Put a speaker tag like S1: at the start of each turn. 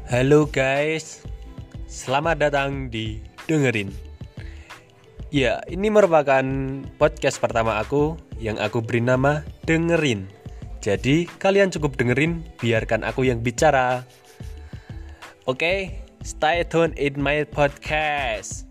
S1: Halo guys, selamat datang di Dengerin. Ya, ini merupakan podcast pertama aku yang aku beri nama Dengerin. Jadi, kalian cukup dengerin, biarkan aku yang bicara. Oke, stay tune in my podcast.